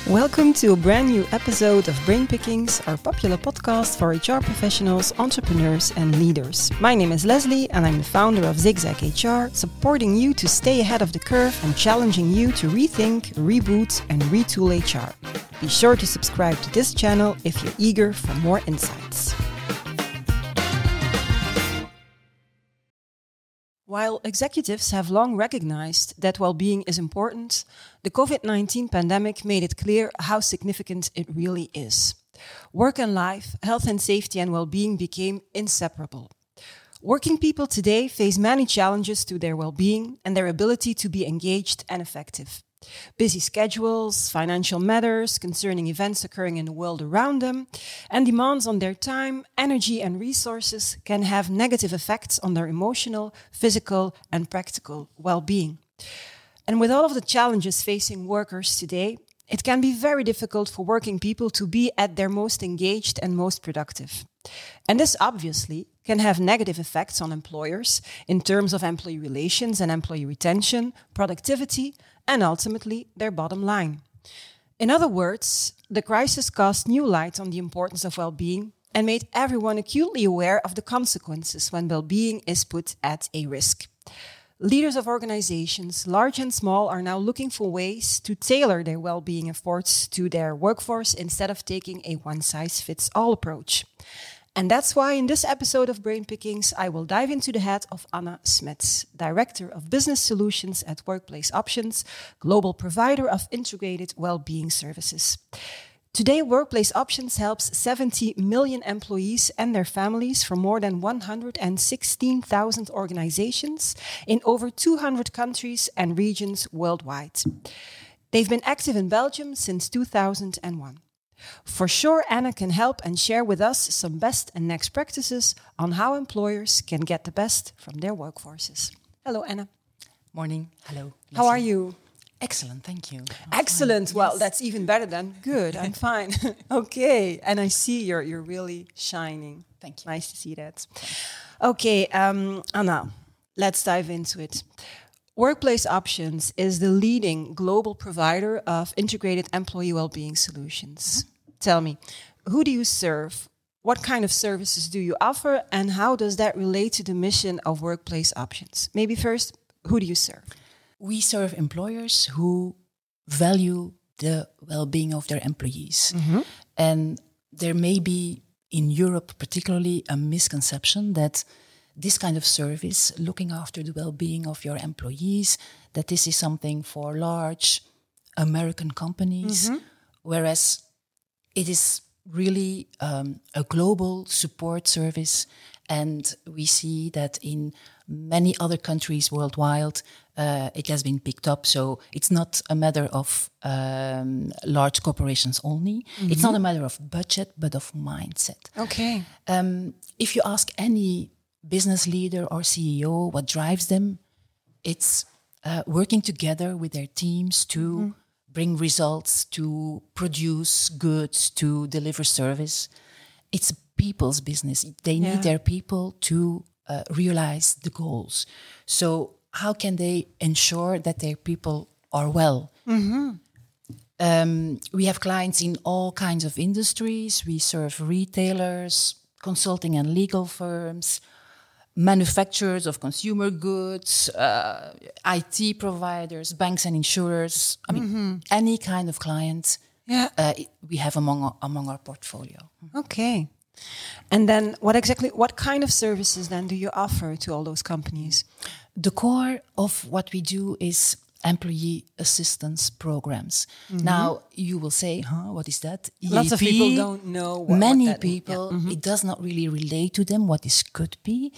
Welcome to a brand new episode of Brain Pickings, our popular podcast for HR professionals, entrepreneurs, and leaders. My name is Leslie, and I'm the founder of Zigzag HR, supporting you to stay ahead of the curve and challenging you to rethink, reboot, and retool HR. Be sure to subscribe to this channel if you're eager for more insights. While executives have long recognized that well-being is important, the COVID-19 pandemic made it clear how significant it really is. Work and life, health and safety and well-being became inseparable. Working people today face many challenges to their well-being and their ability to be engaged and effective. Busy schedules, financial matters concerning events occurring in the world around them, and demands on their time, energy and resources can have negative effects on their emotional, physical and practical well-being. And with all of the challenges facing workers today, it can be very difficult for working people to be at their most engaged and most productive. And this obviously can have negative effects on employers in terms of employee relations and employee retention, productivity, and ultimately their bottom line. In other words, the crisis cast new light on the importance of well-being and made everyone acutely aware of the consequences when well-being is put at a risk. Leaders of organizations, large and small, are now looking for ways to tailor their well-being efforts to their workforce instead of taking a one-size-fits-all approach. And that's why in this episode of Brain Pickings, I will dive into the head of Anna Smets, Director of Business Solutions at Workplace Options, global provider of integrated well-being services. Today, Workplace Options helps 70 million employees and their families from more than 116,000 organizations in over 200 countries and regions worldwide. They've been active in Belgium since 2001. For sure, Anna can help and share with us some best and next practices on how employers can get the best from their workforces. Hello, Anna. Morning. Hello. How are you? Excellent, thank you. Excellent. Fine. Well, Yes. that's even better than good. I'm fine. Okay. And I see you're really shining. Thank you. Nice to see that. Okay, Anna, let's dive into it. Workplace Options is the leading global provider of integrated employee well-being solutions. Tell me, who do you serve? What kind of services do you offer? And how does that relate to the mission of Workplace Options? Maybe first, who do you serve? We serve employers who value the well-being of their employees. And there may be, in Europe particularly, a misconception that this kind of service, looking after the well-being of your employees, that this is something for large American companies, whereas it is really a global support service. And we see that in many other countries worldwide, it has been picked up. So it's not a matter of large corporations only. It's not a matter of budget, but of mindset. Okay. If you ask any business leader or CEO what drives them, it's working together with their teams to bring results, to produce goods, to deliver service. It's people's business. They need their people to realize the goals. So how can they ensure that their people are well? We have clients in all kinds of industries. We serve retailers, consulting and legal firms, manufacturers of consumer goods, IT providers, banks and insurers. I mean, any kind of client we have among our portfolio. Okay. And then what kind of services then do you offer to all those companies? The core of what we do is employee assistance programs. Now, you will say, what is that? Lots of EAP? people don't know what Many that people, it does not really relate to them what this could be.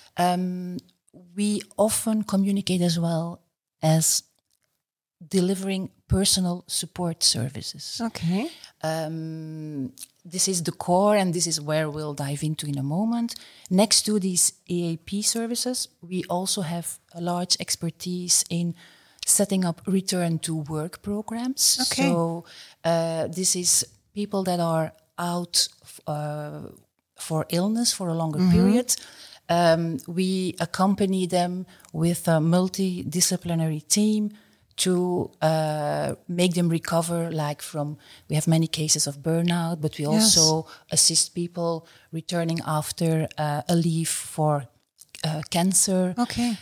We often communicate as well as delivering personal support services. Okay. This is the core, and this is where we'll dive into in a moment. Next to these EAP services, we also have a large expertise in setting up return to work programs. Okay. So this is people that are out for illness for a longer period. We accompany them with a multidisciplinary team to make them recover, like we have many cases of burnout, but we also assist people returning after a leave for cancer. Okay.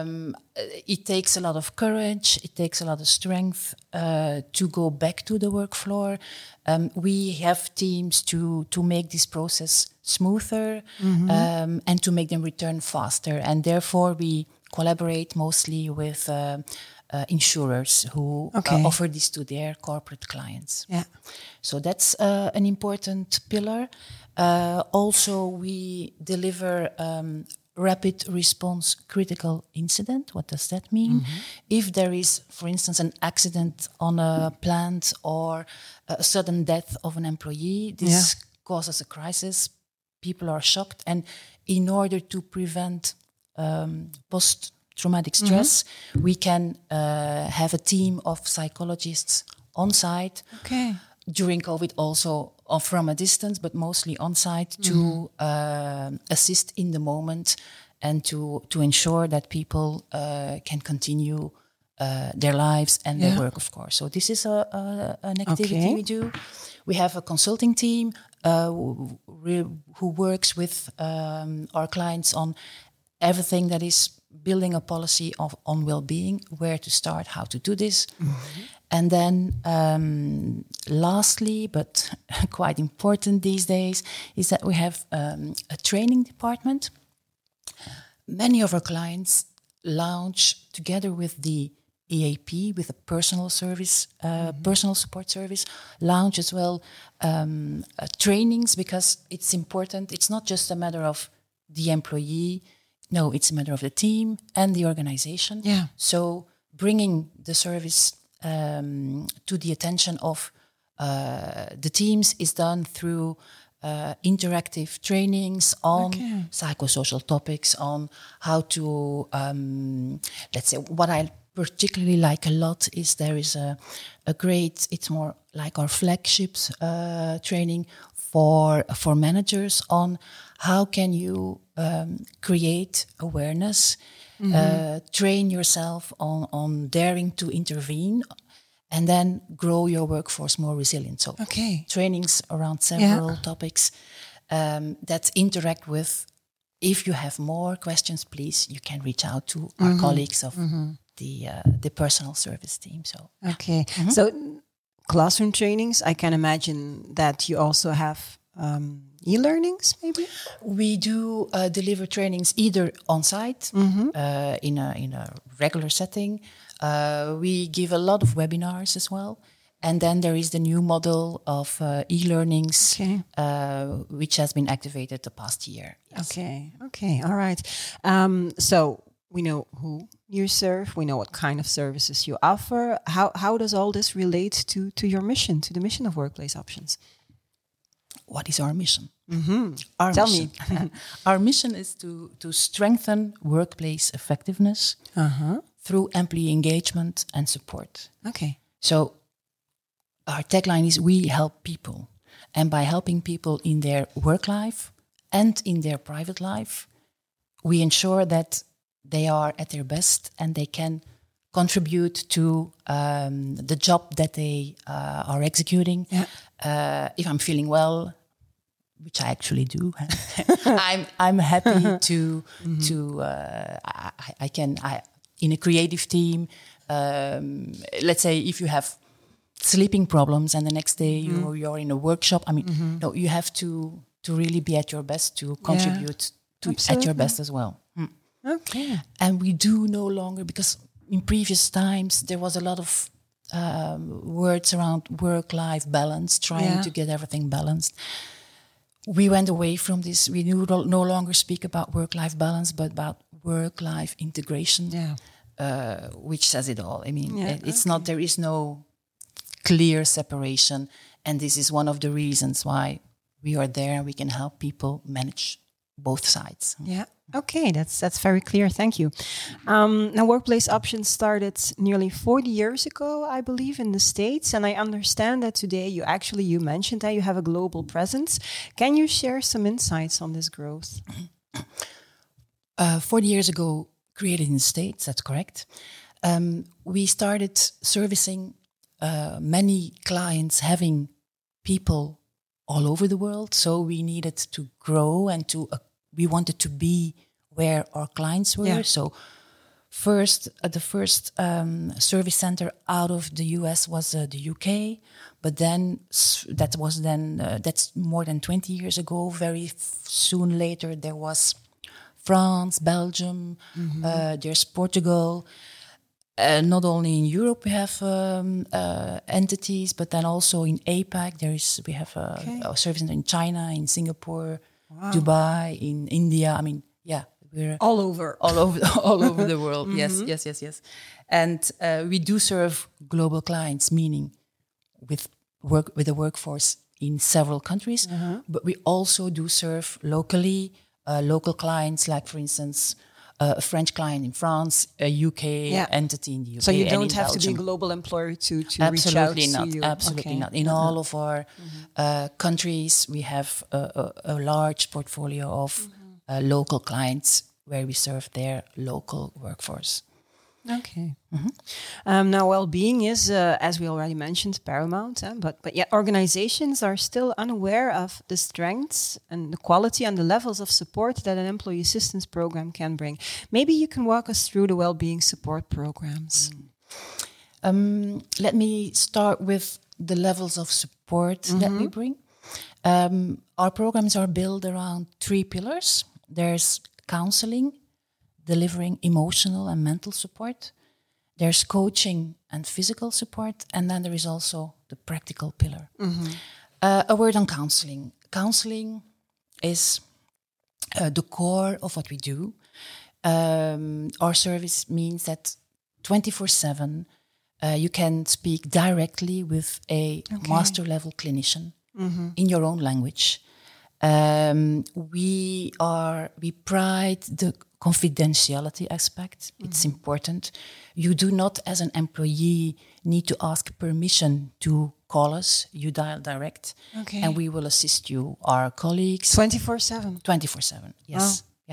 It takes a lot of courage. It takes a lot of strength to go back to the work floor. We have teams to make this process smoother and to make them return faster. And therefore, we collaborate mostly with insurers who offer this to their corporate clients. Yeah. So that's an important pillar. Also, we deliver rapid response critical incident. What does that mean? If there is, for instance, an accident on a plant or a sudden death of an employee, this causes a crisis. People are shocked. And in order to prevent post-traumatic stress, we can have a team of psychologists on site. Okay. During COVID also from a distance, but mostly on site to assist in the moment and to ensure that people can continue their lives and their work, of course. So this is an activity we do. We have a consulting team who works with our clients on everything that is building a policy on well-being, where to start, how to do this. And then lastly, but quite important these days, is that we have a training department. Many of our clients launch, together with the EAP, with a personal service, personal support service, launch as well trainings, because it's important. It's not just a matter of the employee. No, it's a matter of the team and the organization. Yeah. So bringing the service to the attention of the teams is done through interactive trainings on psychosocial topics, on how to, let's say, what I particularly like a lot is there is a great, it's more like our flagships training for managers on how can you create awareness, train yourself on daring to intervene, and then grow your workforce more resilient. So trainings around several topics that interact with, if you have more questions, please, you can reach out to our colleagues of the personal service team. So so classroom trainings, I can imagine that you also have e-learnings, maybe? We do deliver trainings either on site in a regular setting. We give a lot of webinars as well. And then there is the new model of e-learnings, which has been activated the past year. Yes. Okay, all right. So we know who you serve. We know what kind of services you offer. How does all this relate to your mission, to the mission of Workplace Options? What is our mission? Tell me. Our mission is to strengthen workplace effectiveness through employee engagement and support. Okay. So our tagline is we help people. And by helping people in their work life and in their private life, we ensure that they are at their best and they can contribute to the job that they are executing. Yeah. If I'm feeling well, which I actually do, I'm happy to I in a creative team. Let's say if you have sleeping problems and the next day you're in a workshop. I mean, no, you have to really be at your best to contribute to at your best as well. Okay. And we do no longer, because in previous times there was a lot of words around work-life balance, trying to get everything balanced. We went away from this. We no longer speak about work-life balance, but about work-life integration, which says it all. I mean, it's not, there is no clear separation. And this is one of the reasons why we are there and we can help people manage both sides. Yeah. Okay, that's very clear. Thank you. Now, Workplace Options started nearly 40 years ago, I believe, in the States. And I understand that today you mentioned that you have a global presence. Can you share some insights on this growth? 40 years ago, created in the States, that's correct. We started servicing many clients having people all over the world. So we needed to grow and we wanted to be where our clients were. Yeah. So the first service center out of the US was the UK, but then that's more than 20 years ago. Very soon later, there was France, Belgium, there's Portugal. Not only in Europe we have entities, but then also in APAC we have a service center in China, in Singapore, Dubai, in India. I mean, yeah, we're all over the world. Yes. And we do serve global clients, meaning with a workforce in several countries, but we also do serve locally local clients, like for instance. A French client in France, a UK entity in the UK. So you don't have Belgium. to be a global employer to reach out to you. Absolutely not. In all of our countries, we have a large portfolio of local clients where we serve their local workforce. Okay. Now, well-being is, as we already mentioned, paramount. But yet organizations are still unaware of the strengths and the quality and the levels of support that an employee assistance program can bring. Maybe you can walk us through the well-being support programs. Let me start with the levels of support that we bring. Our programs are built around 3 pillars. There's counseling, delivering emotional and mental support. There's coaching and physical support. And then there is also the practical pillar. A word on counseling. Counseling is the core of what we do. Our service means that 24/7 you can speak directly with a master level clinician in your own language. We pride the confidentiality aspect. It's important. You do not, as an employee, need to ask permission to call us. You dial direct, and we will assist you. Our colleagues 24/7. 24/7. Yes. Yeah.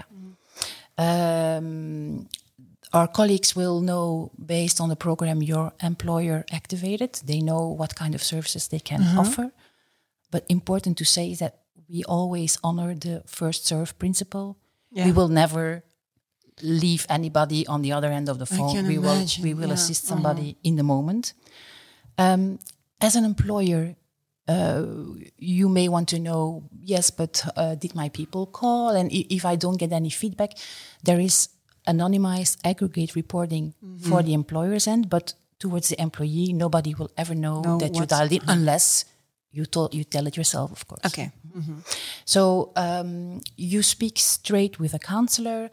Our colleagues will know, based on the program your employer activated, they know what kind of services they can offer. But important to say is that we always honor the first serve principle. Yeah. We will never leave anybody on the other end of the phone. We will assist somebody in the moment. As an employer, you may want to know, yes, but did my people call? And if I don't get any feedback, there is anonymized aggregate reporting for the employer's end, but towards the employee, nobody will ever know that you dialed in unless you tell it yourself, of course. Okay. So you speak straight with a counselor.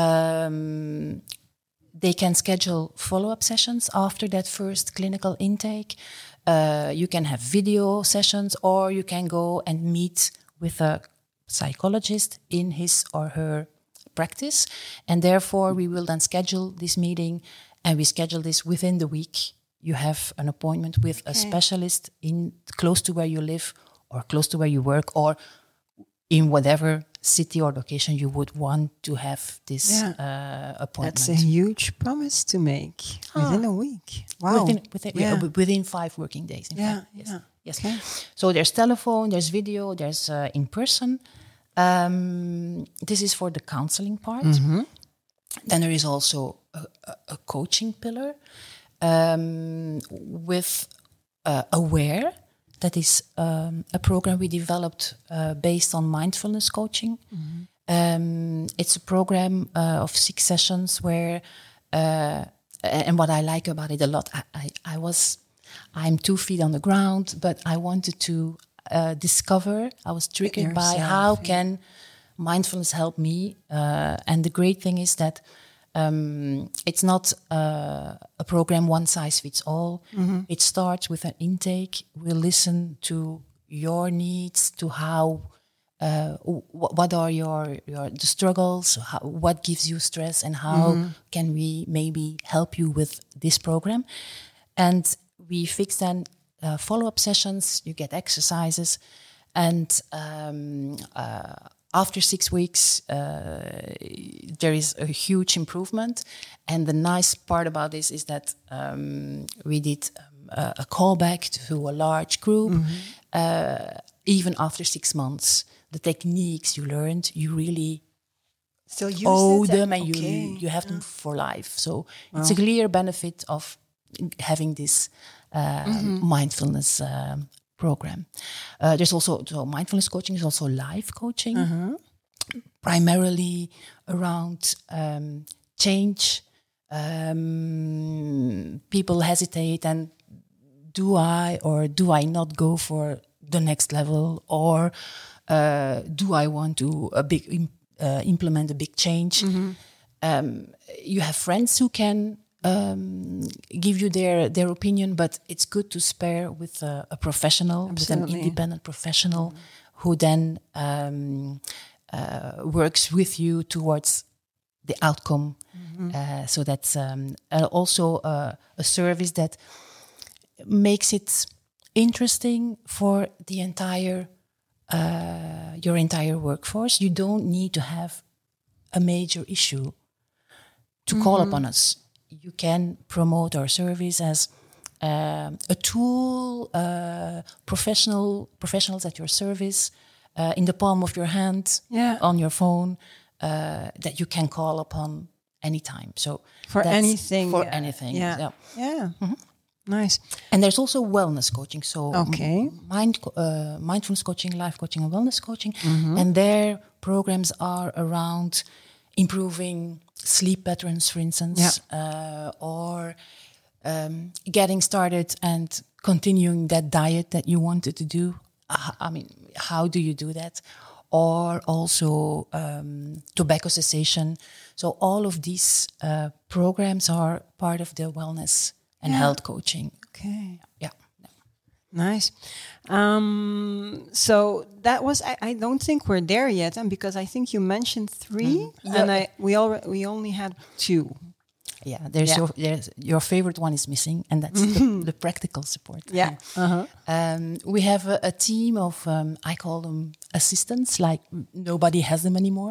They can schedule follow-up sessions after that first clinical intake. You can have video sessions, or you can go and meet with a psychologist in his or her practice. And therefore, we will then schedule this meeting, and we schedule this within the week. You have an appointment with a specialist close to where you live, or close to where you work, or in whatever city or location you would want to have this appointment. That's a huge promise to make within a week. Wow. Within 5 working days. In fact. Yes. Okay. So there's telephone, there's video, there's in person. This is for the counseling part. Then there is also a coaching pillar with Aware. That is a program we developed based on mindfulness coaching. It's a program of 6 sessions where, and what I like about it a lot, I'm 2 feet on the ground, but I wanted to discover, I was triggered by how can mindfulness help me. And the great thing is that it's not a program one size fits all. It starts with an intake. We'll listen to your needs, to how, what are the struggles, what gives you stress, and how can we maybe help you with this program. And we fix then follow-up sessions, you get exercises, and after 6 weeks, there is a huge improvement. And the nice part about this is that we did a callback to a large group. Even after 6 months, the techniques you learned, you really still use them, and you have them for life. So it's a clear benefit of having this mindfulness program. There's also mindfulness coaching is also life coaching, primarily around change. People hesitate, and do I not go for the next level, or do I want to implement a big change? You have friends who can give you their opinion, but it's good to spare with a professional, with an independent professional, who then works with you towards the outcome. So that's also a service that makes it interesting for the entire your entire workforce. You don't need to have a major issue to call upon us. You can promote our service as a tool, professionals at your service, in the palm of your hand, on your phone, that you can call upon anytime. So for anything. Yeah. Nice. And there's also wellness coaching. So mindfulness coaching, life coaching, and wellness coaching. And their programs are around improving sleep patterns, for instance, or getting started and continuing that diet that you wanted to do. I mean, how do you do that? Or also tobacco cessation. So all of these programs are part of the wellness and health coaching. Okay. Yeah. Nice. So that was. I don't think we're there yet, and because I think you mentioned 3, and we only had 2. Yeah. There's your favorite one is missing, and that's the practical support. Yeah. We have a team of I call them assistants. Like nobody has them anymore.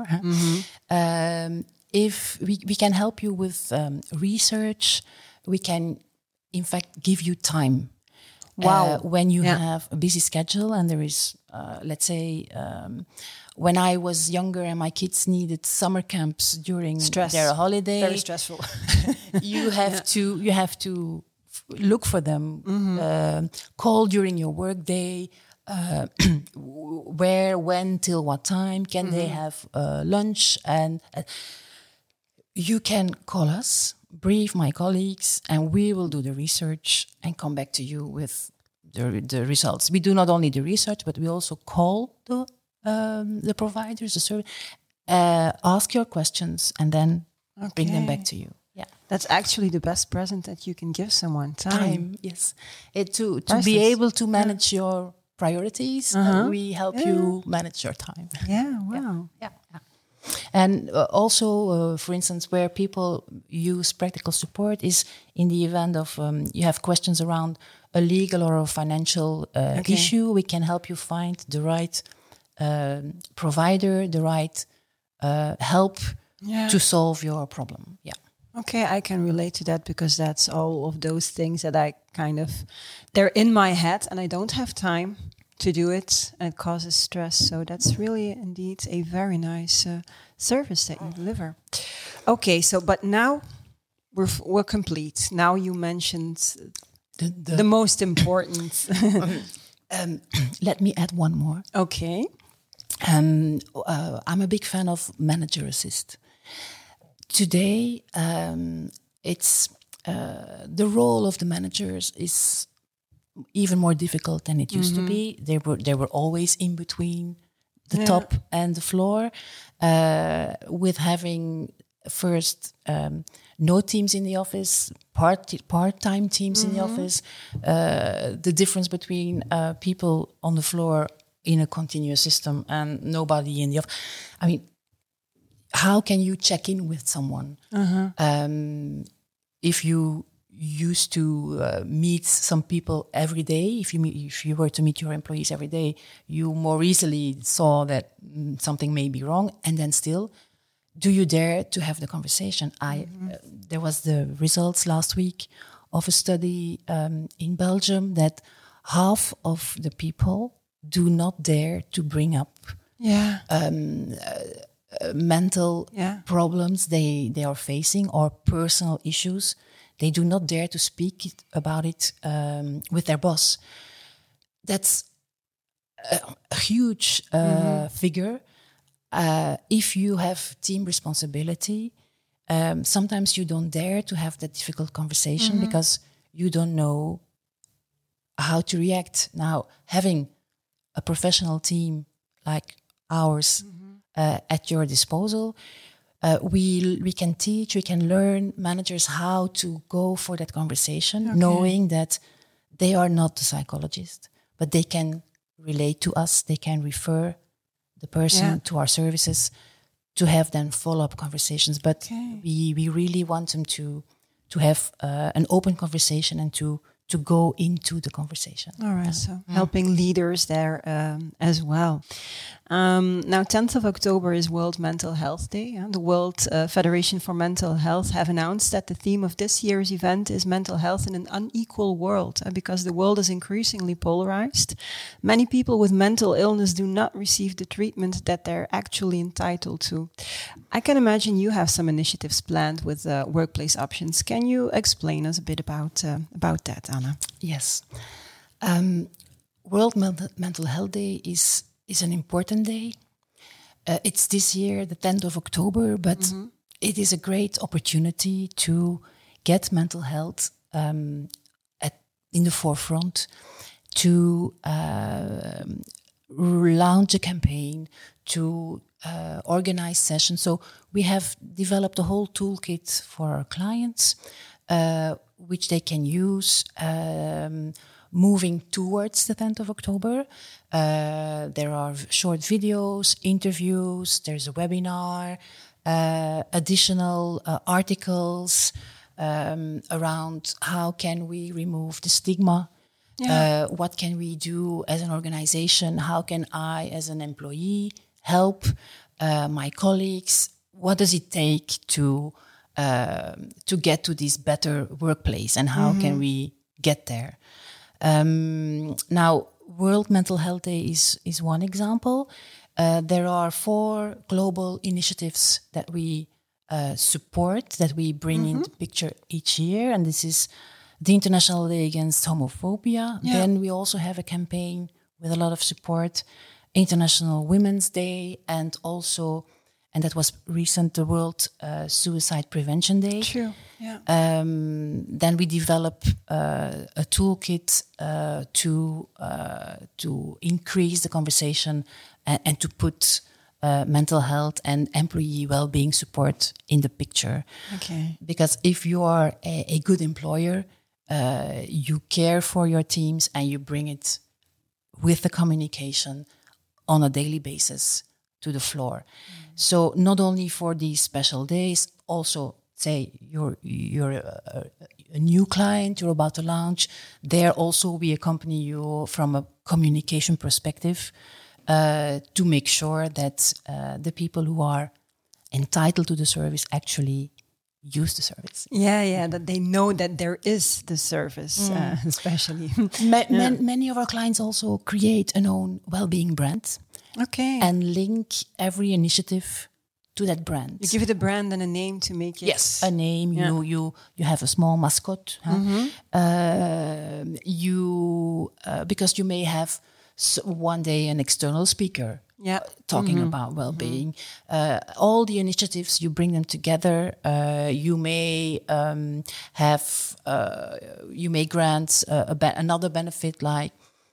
If we can help you with research, we can in fact give you time. Wow. When you have a busy schedule, and there is, let's say, when I was younger and my kids needed summer camps during their holiday, very stressful. you have to look for them, call during your work day, where, when, till what time can they have lunch, and you can call us, brief my colleagues, and we will do the research and come back to you with the results. We do not only the research, but we also call the providers, the service, ask your questions, and then bring them back to you. Yeah, that's actually the best present that you can give someone. Time. Yes, to be able to manage your priorities. We help you manage your time. Yeah. Wow. Yeah. And also, for instance, where people use practical support is in the event of you have questions around a legal or a financial issue. We can help you find the right provider, the right help to solve your problem. Yeah. Okay, I can relate to that, because that's all of those things that I they're in my head and I don't have time to do it, and it causes stress. So that's really indeed a very nice service that you deliver. Okay, so but now we're complete. Now you mentioned the most important. Let me add one more. Okay. I'm a big fan of Manager Assist. Today, it's the role of the managers is even more difficult than it used to be. They were always in between the top and the floor, with having first no teams in the office, part-time teams in the office, the difference between people on the floor in a continuous system and nobody in the office. I mean, how can you check in with someone if you used to meet some people every day, if you were to meet your employees every day, you more easily saw that something may be wrong. And then still, do you dare to have the conversation? There was the results last week of a study in Belgium that half of the people do not dare to bring up mental problems they are facing or personal issues. They do not dare to speak about it with their boss. That's a huge figure. If you have team responsibility, sometimes you don't dare to have that difficult conversation because you don't know how to react. Now, having a professional team like ours at your disposal, we can teach, we can learn managers how to go for that conversation, knowing that they are not the psychologist, but they can relate to us, they can refer the person to our services to have then follow-up conversations. But we really want them to have an open conversation and to go into the conversation. All right, so helping leaders there as well. Now, 10th of October is World Mental Health Day. The World Federation for Mental Health have announced that the theme of this year's event is mental health in an unequal world. Because the world is increasingly polarized, many people with mental illness do not receive the treatment that they're actually entitled to. I can imagine you have some initiatives planned with workplace options. Can you explain us a bit about that, Anna? Yes. World Mental Health Day is an important day. It's this year, the 10th of October, but it is a great opportunity to get mental health in the forefront, to launch a campaign, to organize sessions. So we have developed a whole toolkit for our clients, which they can use moving towards the 10th of October. There are short videos, interviews, there's a webinar, additional articles around how can we remove the stigma, what can we do as an organization, how can I as an employee help my colleagues, what does it take to get to this better workplace and how can we get there. Now, World Mental Health Day is one example. There are 4 global initiatives that we support, that we bring into picture each year. And this is the International Day Against Homophobia. Yeah. Then we also have a campaign with a lot of support, International Women's Day, and also, and that was recent, the World Suicide Prevention Day. True. Yeah. Then we develop a toolkit to increase the conversation and to put mental health and employee well-being support in the picture. Okay. Because if you are a good employer, you care for your teams and you bring it with the communication on a daily basis to the floor. So not only for these special days, also say you're a new client, you're about to launch, there also we accompany you from a communication perspective to make sure that the people who are entitled to the service actually use the service. Yeah, that they know that there is the service, especially. Many of our clients also create an own well-being brand. Okay. And link every initiative to that brand. You give it a brand and a name to make it. Yes, a name. Yeah. You have a small mascot. Because you may have one day an external speaker talking about well-being. All the initiatives, you bring them together. You may you may grant another benefit like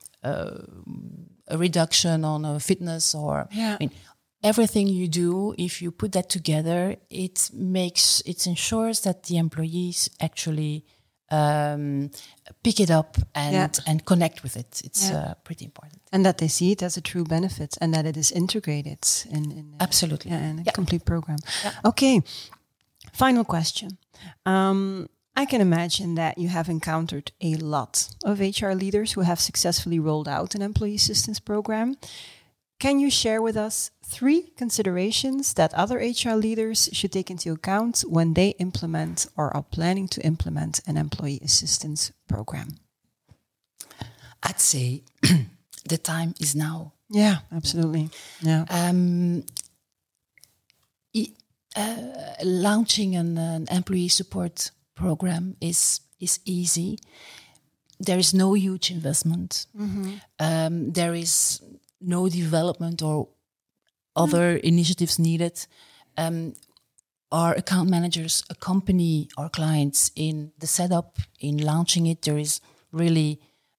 a reduction on a fitness or I mean, everything you do, if you put that together, it ensures that the employees actually pick it up and connect with it. It's pretty important. And that they see it as a true benefit and that it is integrated in absolutely in a complete program. Yeah. Okay, final question. I can imagine that you have encountered a lot of HR leaders who have successfully rolled out an employee assistance program. Can you share with us 3 considerations that other HR leaders should take into account when they implement or are planning to implement an employee assistance program? I'd say the time is now. Yeah, absolutely. Yeah. Launching an employee support program is easy. There is no huge investment. There is no development or other initiatives needed. Our account managers accompany our clients in the setup, in launching it. There is really,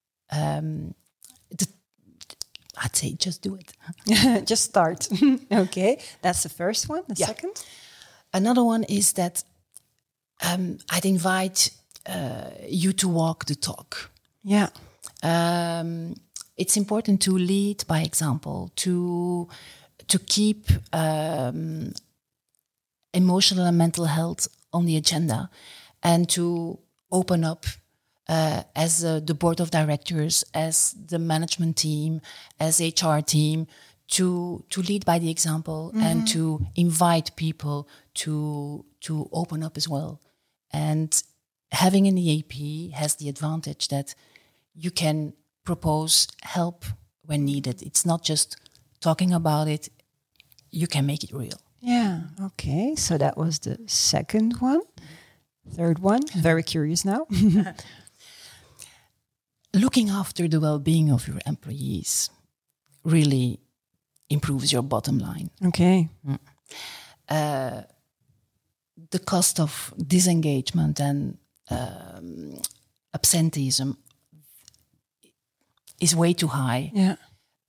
I'd say, just do it. Just start. Okay, that's the first one. The second? Another one is that I'd invite you to walk the talk. Yeah. It's important to lead by example, to keep emotional and mental health on the agenda, and to open up as the board of directors, as the management team, as HR team, to lead by the example and to invite people to open up as well. And having an EAP has the advantage that you can propose help when needed. It's not just talking about it, you can make it real. Yeah, okay. So that was the second one. Third one, very curious now. Looking after the well-being of your employees really improves your bottom line. Okay. The cost of disengagement and absenteeism is way too high. Yeah.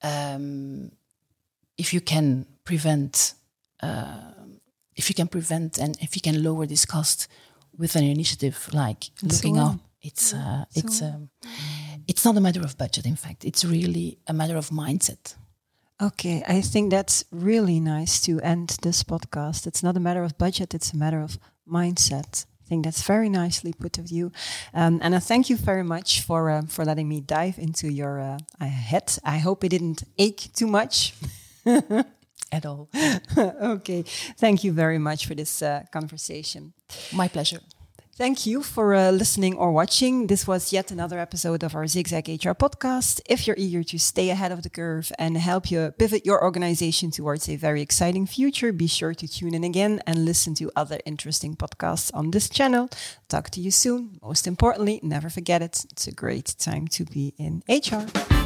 If you can prevent and if you can lower this cost with an initiative like looking up, it's not a matter of budget. In fact, it's really a matter of mindset. Okay, I think that's really nice to end this podcast. It's not a matter of budget, it's a matter of mindset. I think that's very nicely put of you. And I thank you very much for letting me dive into your head. I hope it didn't ache too much. At all. Okay, thank you very much for this conversation. My pleasure. Thank you for listening or watching. This was yet another episode of our Zigzag HR podcast. If you're eager to stay ahead of the curve and help you pivot your organization towards a very exciting future, be sure to tune in again and listen to other interesting podcasts on this channel. Talk to you soon. Most importantly, never forget it. It's a great time to be in HR.